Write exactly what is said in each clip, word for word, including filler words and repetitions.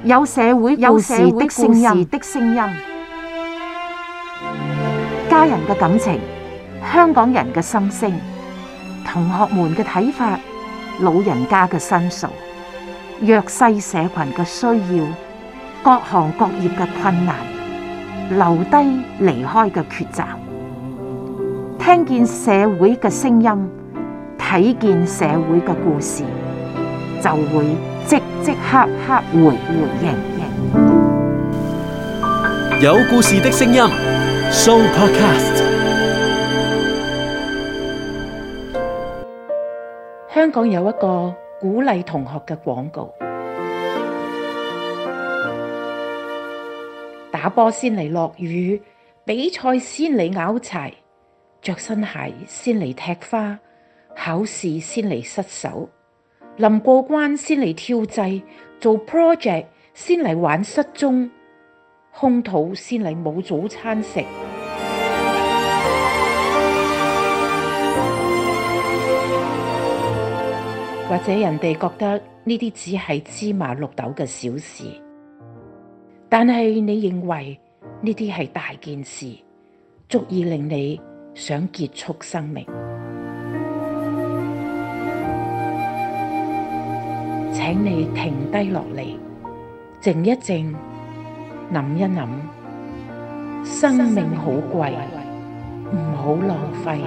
有社會故事的聲音，的聲音，家人嘅感情，香港人嘅心聲，同學們嘅睇法，老人家嘅申訴，弱勢社群嘅需要，各行各業嘅困難，留低離開嘅抉擇，聽見社會嘅聲音，睇見社會嘅故事，就會即即刻刻回回應應。 有故事的聲音 Show Podcast。 香港有一個鼓勵同學嘅廣告，打波先嚟落雨，比賽先嚟拗柴，着新鞋先嚟踢花，考試先嚟失手，臨過關先嚟跳掣，做 project 先嚟玩失蹤，空肚先嚟冇早餐食。或者人哋覺得呢啲只係芝麻綠豆嘅小事，但係你認為呢啲係大件事，足以令你想結束生命。請你停低落嚟，靜一靜，諗一諗，生命好貴，唔好浪費。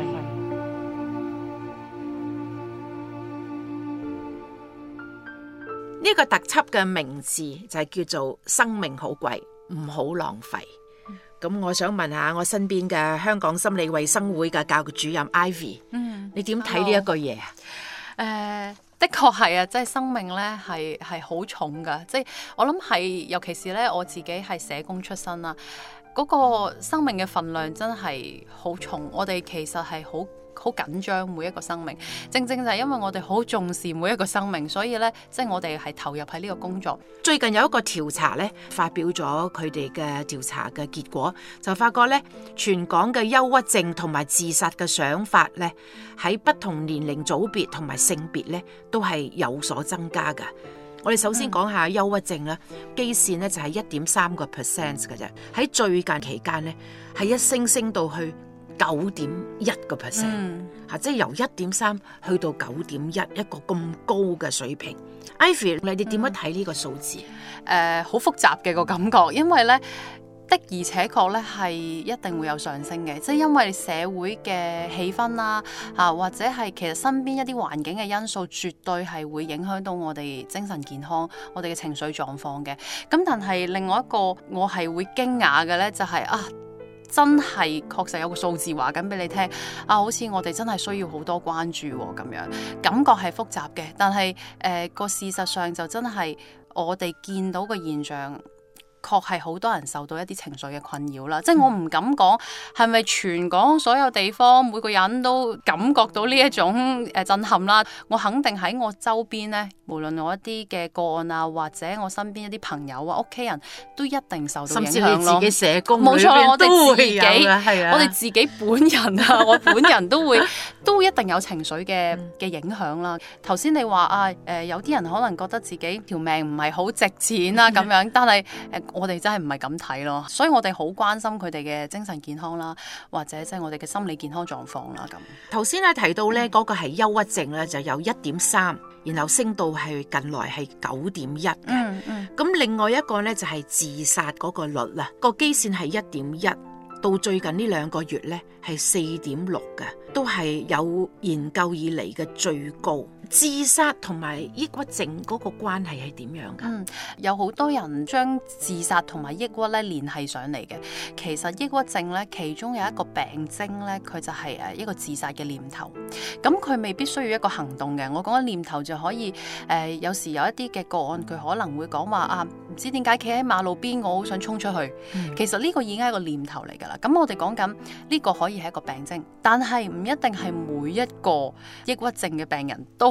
呢個特輯嘅名字就係叫做生命好貴，唔好浪費。咁、嗯、我想問下我身邊嘅香港心理衛生會嘅教育主任 Ivy，嗯，你點睇呢一個嘢啊？ 誒、呃，的確係啊，即係生命咧係係好重噶，即係我諗係，尤其是咧我自己係社工出身啦，嗰、嗰個生命嘅份量真係好重。我哋其實係好好緊張每一個生命，正正就係因為我哋好重視每一個生命，所以咧，即係我哋係投入喺呢個工作。 最近有一個調查咧，發表咗佢哋嘅調查嘅結果，就發覺咧，全港嘅憂鬱症同埋自殺嘅想法咧，喺不同年齡組別同埋性別咧，都係有所增加㗎。我哋首先講下憂鬱症啦，基線咧就係一點三個 percent 嘅啫，喺最近期間咧係一升升到去九點一個 percent， 吓，即係由一點三去到九點一，一個咁高嘅水平。Ivy， 你哋點樣睇呢個數字？誒、 嗯，好、呃、複雜嘅個感覺，因為咧的而且確咧係一定會有上升嘅，即係因為社會嘅氣氛啦，吓或者係其實身邊一啲環境嘅因素，絕對係會影響到我哋精神健康、我哋嘅情緒狀況嘅。咁但係另外一個我係會驚訝嘅咧，就係、是、啊。真係確實有個數字話緊俾你聽啊，好似我哋真係需要好多關注咁樣，感覺係複雜嘅，但係誒個事實上就真係我哋見到嘅現象，確係好多人受到一啲情緒嘅困擾啦。即係我唔敢講係咪全港所有地方每個人都感覺到呢一種誒震撼啦。我肯定喺我周邊呢，無論我一啲嘅個案啊，或者我身邊一啲朋友啊、屋企人都一定受到影響咯。 甚至你自己社工冇錯，我哋自己， 我哋自己本人啊，我本人都會都一定有情緒嘅嘅影響啦。頭先你話啊，誒、呃、有啲人可能覺得自己條命唔係好值錢啦咁樣，但係誒。呃我哋真係唔係咁睇咯，所以我哋好關心佢哋嘅精神健康啦，或者即係我哋嘅心理健康狀況啦。咁頭先咧提到咧嗰個係憂鬱症咧，就有一點三，然後升到係近來係九點一嘅。嗯嗯。咁另外一個咧就係自殺嗰個率啦，個基線係一點一，到最近呢兩個月咧係四點六嘅，都係有研究以嚟嘅最高。自殺同埋抑鬱症嗰個關係係點樣㗎？ 嗯，有好多人將自殺同埋抑鬱咧聯繫上嚟嘅。其實抑鬱症咧，其中有一個病徵咧，佢就係誒一個自殺嘅念頭。咁佢未必需要一個行動嘅。我講緊念頭就可以誒、呃，有時有一啲嘅個案，佢可能會講話啊，唔知點解企喺馬路邊，我好想衝出去。嗯、其實呢個已經係一個念頭嚟㗎啦。咁我哋講緊呢個可以係一個病徵，但係唔一定係每一個抑鬱症嘅病人都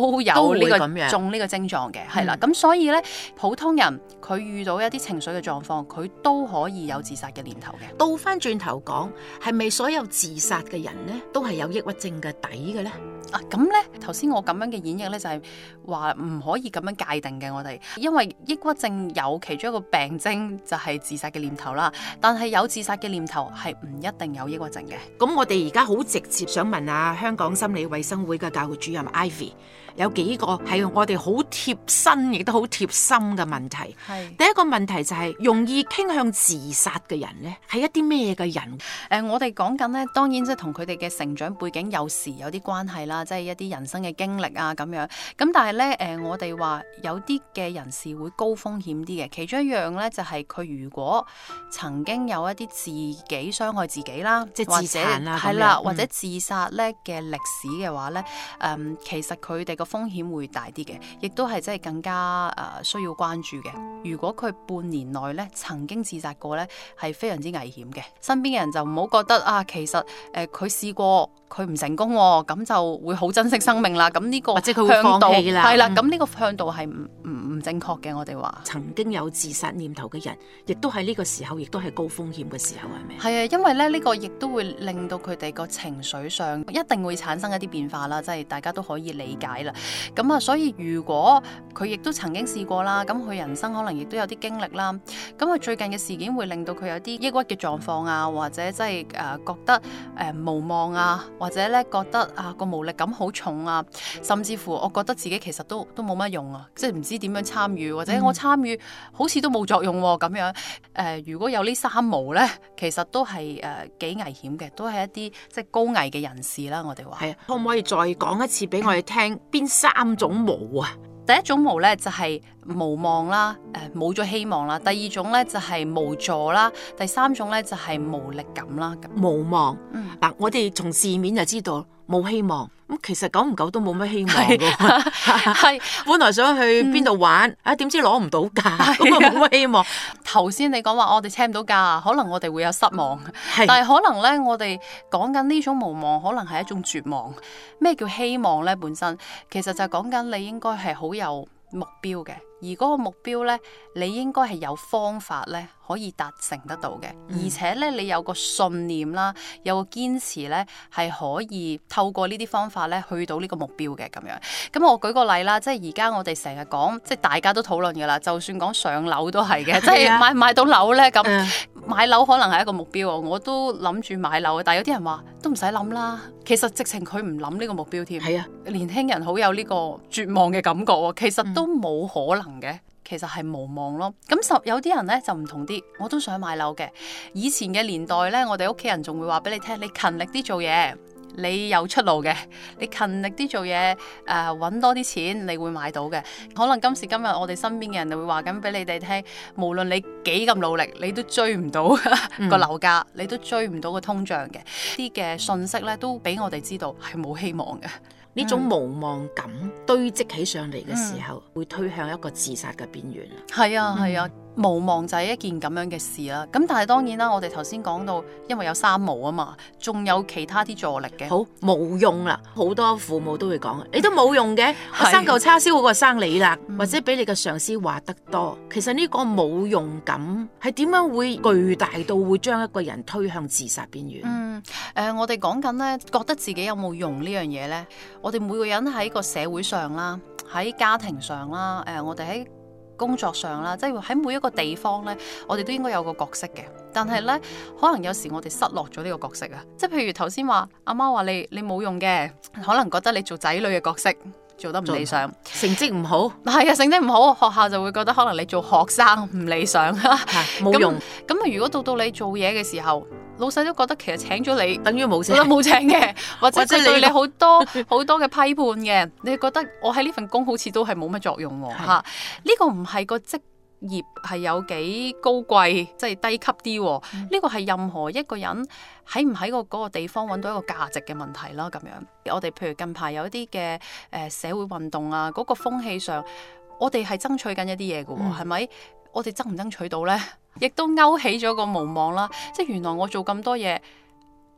都有呢、呢個都會咁樣中呢個症狀嘅，係啦。 嗯咁所以咧，普通人佢遇到一啲情緒嘅狀況，佢都可以有自殺嘅念頭嘅。 倒翻轉頭講，係咪所有自殺嘅人呢都係有抑鬱症嘅底嘅呢？ 啊，咁咧頭先我咁樣嘅演繹咧，就係話唔可以咁樣界定嘅。我哋因為抑鬱症有其中一個病徵就係自殺嘅念頭啦，但係有自殺嘅念頭係唔一定有抑鬱症嘅。 咁我哋而家好直接想問下香港心理衛生會嘅教育主任 Ivy， 有幾個係我哋好貼身亦都好貼心嘅問題。 係第一個問題就係、是、容易傾向自殺嘅人呢，係一啲咩嘅人？ 誒、呃，我哋講緊咧，當然即係同佢哋嘅成長背景有時有啲關係啦，即係一啲人生嘅經歷啊咁樣。咁但係咧，誒、呃，我哋話有啲嘅人士會高風險啲嘅，其中一樣咧就係、是、佢如果曾經有一啲自己傷害自己啦， 即係自殘啦， 係啦， 嗯、 或者自殺咧嘅歷史嘅話咧，誒、嗯，其實佢哋個風險會大啲嘅，亦都係即係更加誒、呃、需要關注嘅。如果佢半年內咧曾經自殺過咧，係非常之危險嘅。身邊嘅人就唔好覺得啊，其實誒佢試過佢唔成功，咁就會好珍惜生命啦。咁呢個或者佢會放棄啦， 係啦，咁呢、 嗯、 個向度係唔唔唔正確嘅。我哋話曾經有自殺念頭嘅人，亦都喺呢個時候，亦都係高風險嘅時候，係咪？ 係啊，因為咧呢、呢個亦都會令到佢哋個情緒上一定會產生一啲變化啦，即係大家都可以理解啦。咁啊，所以如果佢亦都曾經試過啦，咁佢人生可能亦都有啲經歷啦。咁佢最近嘅事件會令到佢有啲抑鬱嘅狀況啊，或者即係誒覺得誒、呃、無望啊，或者咧覺得啊個無力感好重啊，甚至乎我覺得自己其實都都冇乜用啊，即係唔知點樣參與，或者我參與好似都冇作用咁、啊、樣。誒、呃，如果有呢三無咧，其實都係誒幾危險嘅，都係一啲即係高危嘅人士啦。我哋話係啊，可唔可以再講一次俾我哋聽邊三種無啊？ 第一種無咧就係、是、無望啦，誒冇咗希望啦。第二種咧就係、是、無助啦，第三種咧就係、是、無力感啦。 無望， 嗯， 嗱，我哋從字面就知道冇希望。咁其實久唔久都冇乜希望㗎， 係本來想去邊度玩，嗯、啊點知攞唔到假，咁啊冇乜希望。 頭先你講話我哋請唔到假，可能我哋會有失望， 是但係可能咧我哋講緊呢種無望，可能係一種絕望。咩叫希望咧？本身其實就係講緊你應該係好有目標嘅，而嗰個目標咧，你應該係有方法咧可以達成得到嘅，嗯、而且咧你有個信念啦，有個堅持咧，係可以透過呢啲方法咧去到呢個目標嘅咁樣。咁我舉個例啦，即係而家我哋成日講，即係大家都討論噶啦，就算講上樓都係嘅，即係買唔買到樓咧咁，嗯、買樓可能係一個目標，我都諗住買樓，但係有啲人話都唔使諗啦，其實直情佢唔諗呢個目標添。係啊，年輕人好有呢個絕望嘅感覺喎，其實都冇可能嘅。嗯其實係無望咯，咁十有啲人咧就唔同啲，我都想買樓嘅。以前嘅年代咧，我哋屋企人仲會話俾你聽，你勤力啲做嘢，你有出路嘅。你勤力啲做嘢，誒、呃、揾多啲錢，你會買到嘅。可能今時今日我哋身邊嘅人就會話緊俾你哋聽，無論你幾咁努力，你都追唔到個樓價，你都追唔到個通脹嘅。啲嘅信息咧都俾我哋知道係冇希望嘅。 呢種無望感堆積起上嚟嘅時候， 嗯、 會推向一個自殺嘅邊緣。 係啊，係啊。嗯無望就係一件咁樣嘅事啦，咁但係當然啦，我哋頭先講到，因為有三無啊嘛，仲有其他啲助力嘅。 好冇用啦，好多父母都會講，你都冇用嘅，我生嚿叉燒好過生你啦，嗯、或者俾你嘅上司話得多。其實呢個冇用感係點樣會巨大到會將一個人推向自殺邊緣？ 嗯，誒、呃，我哋講緊咧，覺得自己有冇用呢樣嘢咧？我哋每個人喺個社會上啦，喺家庭上啦，誒、呃，我哋喺工作上啦，即係喺每一個地方咧，我哋都應該有個角色嘅。但係咧，可能有時我哋失落咗呢個角色啊。即係譬如頭先話阿媽話你你冇用嘅，可能覺得你做仔女嘅角色做得唔理想， 成績唔好， 係啊，成績唔好，學校就會覺得可能你做學生唔理想， 冇用。 咁啊，如果到到你做嘢嘅時候，老細都覺得其實請咗你等於冇請， 冇請嘅，或者佢對你好多好多嘅批判嘅，你覺得我喺呢份工好似都係冇乜作用喎，嚇呢是、啊、個唔係個職業係有幾高貴，即係低級啲，呢、嗯、個係任何一個人喺唔喺個嗰個地方揾到一個價值嘅問題啦。咁樣我哋譬如近排有一啲嘅誒社會運動啊，嗰、那個風氣上，我哋係爭取緊一啲嘢嘅喎，係咪、嗯？我哋爭唔爭取到呢？亦都勾起咗個無望啦。即係原來我做咁多嘢，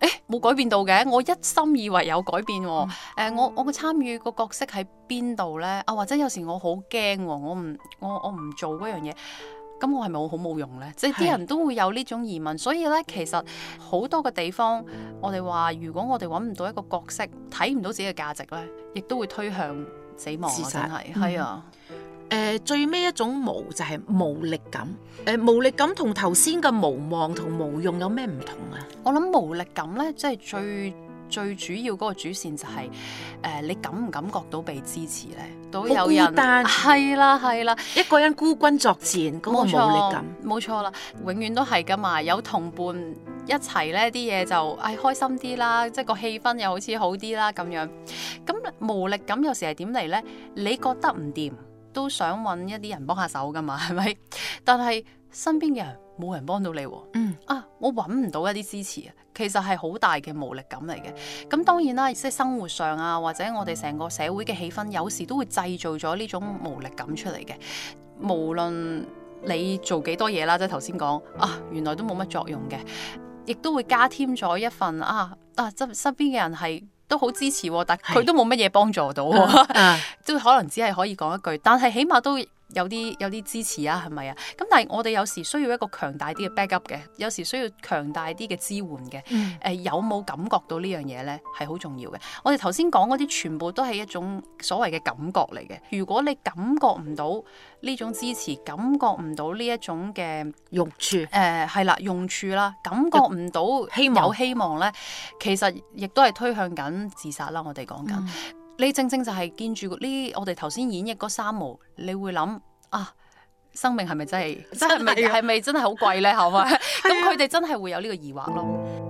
誒冇改變到嘅，我一心以為有改變喎、哦。誒、嗯呃、我我嘅參與個角色喺邊度咧？啊或者有時我好驚喎，我唔我我唔做嗰樣嘢，咁我係咪我好冇用咧？即係啲人都會有呢種疑問，所以咧其實好多嘅地方，我哋話如果我哋揾唔到一個角色，睇唔到自己嘅價值咧，亦都會推向死亡啊！真係係啊。 誒、呃、最尾一種無就係無力感，誒、呃、無力感同頭先嘅無望同無用有咩唔同啊？ 我諗無力感咧，即係最最主要嗰個主線就係、是、誒、呃、你感唔感覺到被支持咧？都有人係啦係啦， 一個人孤軍作戰嗰、那個無力感， 冇錯啦，永遠都係噶嘛，有同伴一齊咧，啲嘢就誒、哎、開心啲啦，即係個氣氛又好似好啲啦咁樣。咁無力感有時係點嚟咧？你覺得唔掂，都想揾一啲人幫下手噶嘛，係咪？但係身邊嘅人冇人幫到你，嗯啊，我揾唔到一啲支持啊，其實係好大嘅無力感嚟嘅。咁當然啦，即係生活上啊，或者我哋成個社會嘅氣氛，有時都會製造咗呢種無力感出嚟嘅。無論你做幾多嘢啦，即係頭先講啊，原來都冇乜作用嘅，亦都會加添咗一份啊啊，身身邊嘅人係都好支持，但佢都冇乜嘢幫助到，都可能只係可以講一句，但係起碼都有啲有啲支持啊，係咪啊？咁但係我哋有時需要一個強大啲嘅 backup 嘅，有時需要強大啲嘅支援嘅。誒、嗯呃、有冇感覺到呢樣嘢咧，係好重要嘅。我哋頭先講嗰啲全部都係一種所謂嘅感覺嚟嘅。如果你感覺唔到呢種支持，感覺唔到呢一種嘅用處，誒係啦用處啦，感覺唔到希望有希望咧，其實亦都係推向緊自殺啦。我哋講緊。嗯你正正就係見住呢，我哋頭先演繹嗰三毛，你會諗啊，生命係咪真係真係咪係咪真係好貴咧？係咪？咁佢哋真係會有呢個疑惑咯。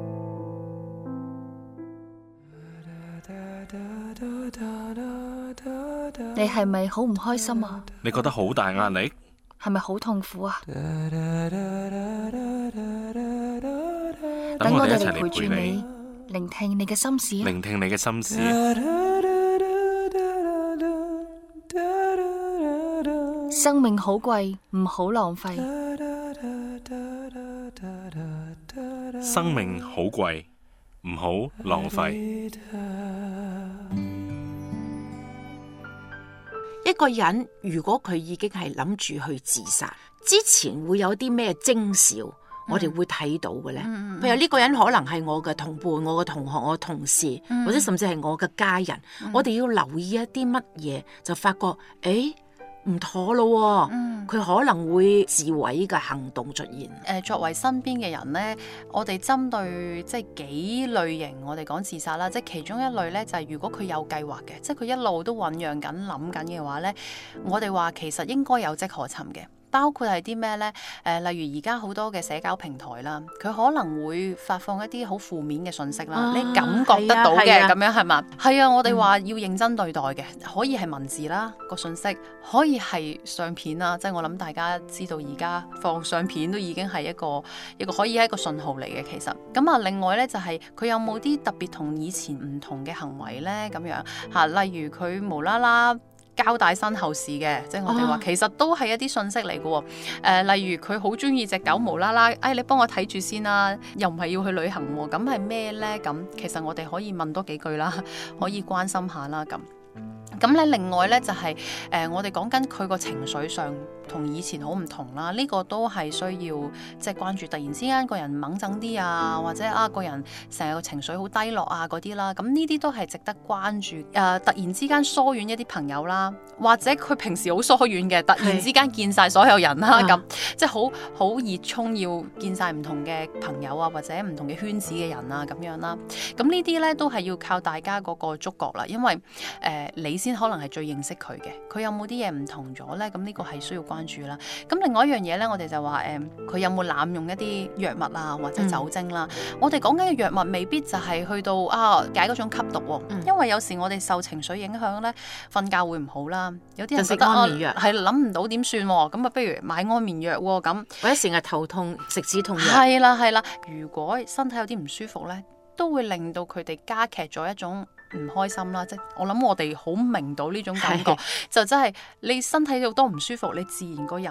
你係咪好唔開心啊？ 你覺得好大壓力？ 係咪好痛苦啊？ 等我哋一齊嚟陪住你，聆聽你嘅心事。 聆聽你嘅心事。 生命好貴，唔好浪費。 生命好貴，唔好浪費。 一個人如果佢已經係諗住去自殺，之前會有啲咩徵兆？我哋會睇到嘅咧，嗯、譬如呢個人可能係我嘅同伴、我嘅同學、我嘅同事，嗯、或者甚至係我嘅家人。嗯、我哋要留意一啲乜嘢，就發覺誒唔妥咯。佢、嗯、可能會自毀嘅行動出現。誒、 呃，作為身邊嘅人咧，我哋針對即係幾類型，我哋講自殺啦，即係其中一類咧，就係、是、如果佢有計劃嘅，即係佢一路都醖釀緊、諗緊嘅話咧，我哋話其實應該有跡可尋嘅。包括係啲咩呢？誒、呃，例如而家好多嘅社交平台啦，佢可能會發放一啲好負面嘅信息啦，啊、你感覺得到嘅咁樣係嘛？係啊，我哋話要認真對待嘅，可以係文字啦個信息，可以係相片啦，即係我諗大家知道而家放相片都已經係一個一個可以係一個信號嚟嘅。其實咁啊，另外呢，就係、是、佢有冇啲特別同以前唔同嘅行為呢？咁樣嚇，例如佢無啦啦交代身後事嘅，即係我哋話其實都係一啲信息嚟嘅喎。誒，例如佢好中意隻狗，無啦啦，誒你幫我睇住先啦，又唔係要去旅行喎，咁係咩咧？咁其實我哋可以問多幾句啦，可以關心下啦，咁。咁咧，另外咧就係、是、誒、呃，我哋講緊佢個情緒上同以前好唔同啦。呢、這個都係需要即係關注。突然之間個人猛整啲啊，或者啊個人成日個情緒好低落啊嗰啲啦，咁呢啲都係值得關注。誒、呃，突然之間疏遠一啲朋友啦，或者佢平時好疏遠嘅，突然之間見晒所有人啦，咁即係好好熱衷要見晒唔同嘅朋友啊，或者唔同嘅圈子嘅人啊咁樣啦。咁呢啲咧都係要靠大家嗰個觸覺啦，因為誒、呃、你先可能係最認識佢嘅，佢有冇啲嘢唔同咗咧？咁呢個係需要關注啦。咁另外一樣嘢咧，我哋就話誒，佢、呃、有冇濫用一啲藥物啊，或者酒精啦？嗯、我哋講緊嘅藥物未必就係去到啊解嗰種吸毒喎、哦，嗯、因為有時我哋受情緒影響咧，瞓覺會唔好啦。有啲人覺得安眠藥係諗唔到點算喎，咁啊不如買安眠藥喎咁， 或者成日頭痛食止痛藥。 係啦係啦，如果身體有啲唔舒服咧，都會令到佢哋加劇咗一種唔開心啦，即係我諗我哋好明到呢種感覺，就真係你身體有多唔舒服，你自然個人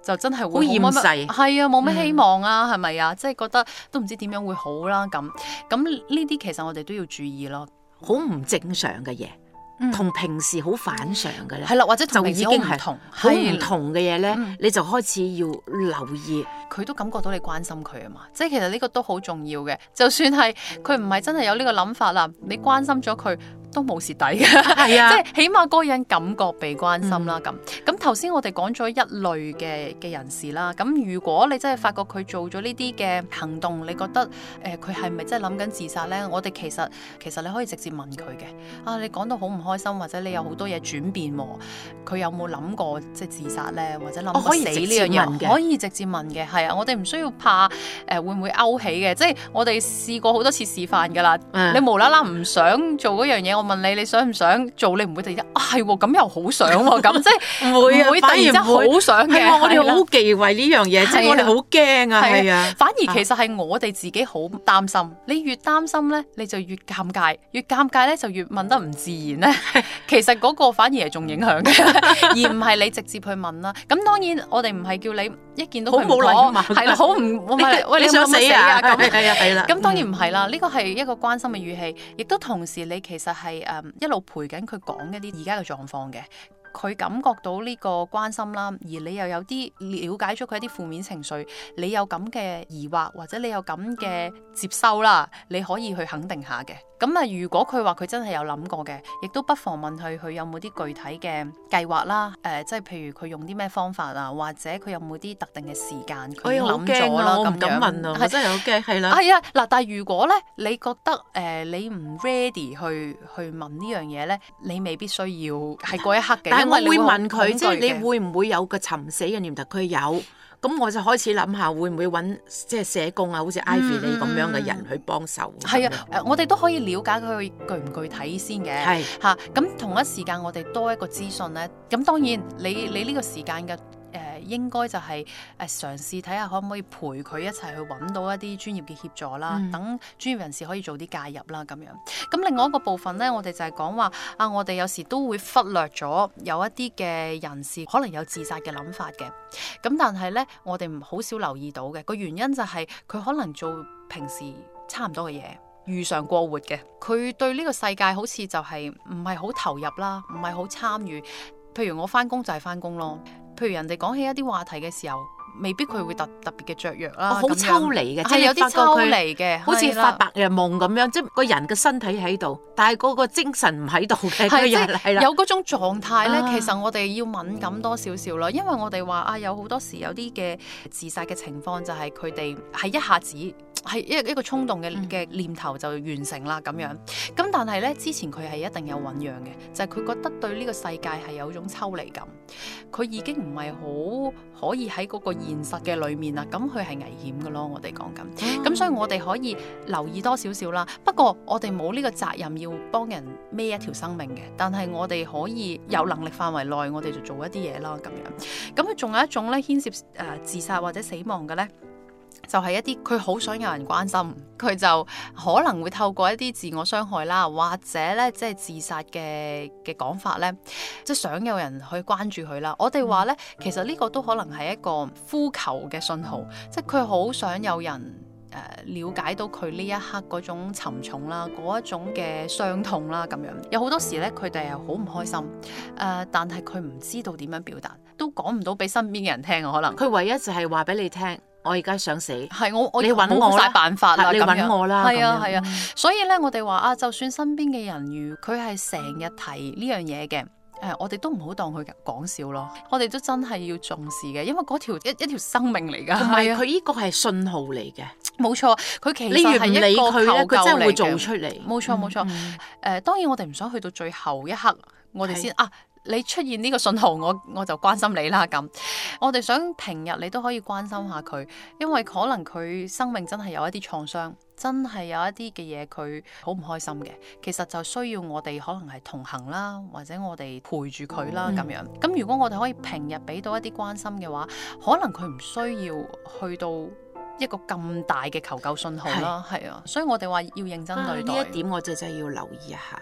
就真係好會厭世， 係啊，冇咩希望啊，係咪啊？即係覺得都唔知點樣會好啦咁。咁呢啲其實我哋都要注意咯， 好唔正常嘅嘢。同平時好反常嘅咧， 係啦，或者就已經係唔同， 好唔同嘅嘢咧， 嗯你就開始要留意。 佢都感覺到你關心佢啊嘛，即係其實呢個都好重要嘅。就算係佢唔係真係有呢個諗法啦，你關心咗佢都冇蝕底嘅， 係啊， 即係起碼嗰個人感覺被關心啦。咁咁頭先我哋講咗一類嘅嘅人士啦，咁如果你真係發覺佢做咗呢啲嘅行動，你覺得誒佢係咪真係諗緊自殺咧？我哋其實其實你可以直接問佢嘅。啊，你講到好唔開心，或者你有好多嘢轉變喎，佢有冇諗過即係自殺咧，或者諗過死呢樣嘢？可以直接問嘅，係啊，我哋唔需要怕誒、呃、會唔會勾起嘅，即係我哋試過好多次示範㗎啦。嗯、你無啦啦唔想做嗰樣嘢，我問你你想唔想做？你唔會突然間啊係喎，咁又好想喎，咁即係唔會啊， 會突然間好想嘅。 係我哋好忌諱呢樣嘢，即係我哋好驚啊，係啊。 反而其實係我哋自己好擔心，你越擔心咧，你就越尷尬，越尷尬咧就越問得唔自然咧。其實嗰個反而係仲影響嘅，而唔係你直接去問啦。咁當然我哋唔係叫你一見到佢唔妥，係啦，好唔喂你想死啊？咁係啊係啦。咁當然唔係啦，呢個係一個關心嘅語氣，亦都同時你其實係誒一路陪緊佢講一啲而家嘅狀況嘅。佢感覺到呢個關心啦，而你又有啲了解咗佢一啲負面情緒，你有咁嘅疑惑或者你有咁嘅接收啦，你可以去肯定下嘅。咁啊，如果佢話佢真係有諗過嘅，亦都不妨問佢佢有冇啲具體嘅計劃啦。誒、呃，即係譬如佢用啲咩方法啊，或者佢有冇啲特定嘅時間佢已經諗咗啦。 我唔敢問啊，我真係好驚，係啦。 係啊，嗱，但係如果咧，你覺得誒、呃、你唔 ready 去去問呢樣嘢咧，你未必需要係嗰一刻嘅。 但係我會問佢，即係你會唔會有個尋死嘅念頭？佢有。咁我就開始諗下，會唔會揾即係社工啊，好似 Ivy 你咁樣嘅人去幫手？ 係、嗯、啊，誒，我哋都可以了解佢具唔具體先嘅。係嚇是，咁、啊、同一時間我哋多一個資訊咧。咁當然你你呢個時間嘅。誒、呃、應該就係誒嘗試睇下可唔可以陪佢一齊去揾到一啲專業嘅協助啦，嗯、等專業人士可以做啲介入啦咁樣。咁另外一個部分咧，我哋就係講話啊，我哋有時都會忽略咗有一啲嘅人士可能有自殺嘅諗法嘅。咁但係咧，我哋唔好少留意到嘅個原因就係佢可能做平時差唔多嘅嘢，如常過活嘅。佢對呢個世界好似就係唔係好投入啦，唔係好參與。譬如我翻工就係翻工咯。譬如人哋講起一啲話題嘅時候，未必佢會特特別嘅雀躍啦，好、哦、抽離嘅，即係有啲抽離嘅，好似發白日夢咁樣，即係個人嘅身體喺度，但係嗰個精神唔喺度嘅，係即係有嗰種狀態咧。啊、其實我哋要敏感多少少啦，因為我哋話啊，有好多時有啲嘅自殺嘅情況就係佢哋係一下子係一一個衝動嘅嘅念頭就完成啦咁樣。咁但係咧之前佢係一定有醖釀嘅，就係、是、佢覺得對呢個世界係有種抽離感，佢已經唔係好可以喺嗰個現實嘅裏面啦，咁佢係危險嘅咯。我哋講緊，咁、嗯、所以我哋可以留意多少少啦。不過我哋冇呢個責任要幫人孭一條生命嘅，但係我哋可以有能力範圍內，我哋就做一啲嘢啦咁樣。咁佢仲有一種咧牽涉誒自殺或者死亡嘅咧。就係一啲佢好想有人關心，佢就可能會透過一啲自我傷害啦，或者咧即係自殺嘅嘅講法咧，即係想有人去關注佢啦。我哋話咧，其實呢個都可能係一個呼求嘅信號，即係佢好想有人誒了解到佢呢一刻嗰種沉重啦，嗰一種嘅傷痛啦咁樣。有好多時咧，佢哋係好唔開心，誒、呃，但係佢唔知道點樣表達，都講唔到俾身邊嘅人聽啊。可能佢唯一就係話俾你聽。我而家想死，係我我你揾我晒辦法啦，你揾我啦，係啊係啊，所以咧我哋話啊，就算身邊嘅人如佢係成日提呢樣嘢嘅，誒、呃、我哋都唔好當佢講笑咯，我哋都真係要重視嘅，因為嗰條一一條生命嚟噶，同埋佢呢個係信號嚟嘅，冇錯，佢其實係一個求救嚟嘅，佢真係會做出嚟，冇錯冇錯，誒、嗯呃、當然我哋唔想去到最後一刻，我哋先啊。你出現呢個信號，我我就關心你啦咁。我哋想平日你都可以關心下佢，因為可能佢生命真係有一啲創傷，真係有一啲嘅嘢佢好唔開心嘅。其實就需要我哋可能係同行啦，或者我哋陪住佢啦咁樣。咁、嗯、如果我哋可以平日俾到一啲關心嘅話，可能佢唔需要去到一個咁大嘅求救信號啦。係啊，所以我哋話要認真對待呢、啊、一點，我就真係要留意一下。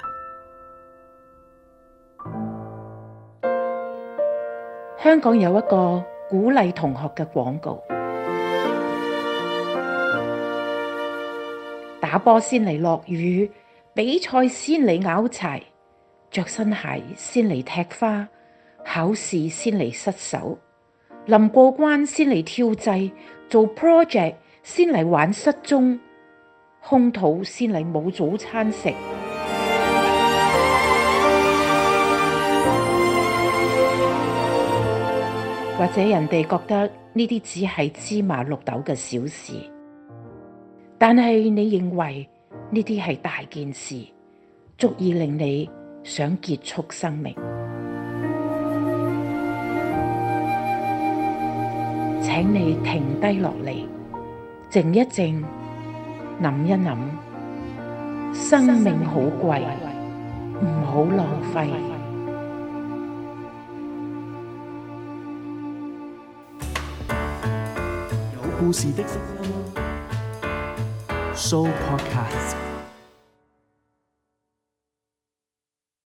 香港有一個鼓勵同學嘅廣告。打波先嚟落雨，比賽先嚟拗柴，着新鞋先嚟踢花，考試先嚟失手，臨過關先嚟跳掣，做 project 先嚟玩失蹤，空肚先嚟冇早餐食。或者人哋覺得呢啲只係芝麻綠豆嘅小事，但係你認為呢啲係大件事，足以令你想結束生命。請你停低落嚟，靜一靜，諗一諗，生命好貴，唔好浪費。 有故事的聲音 Show Podcast。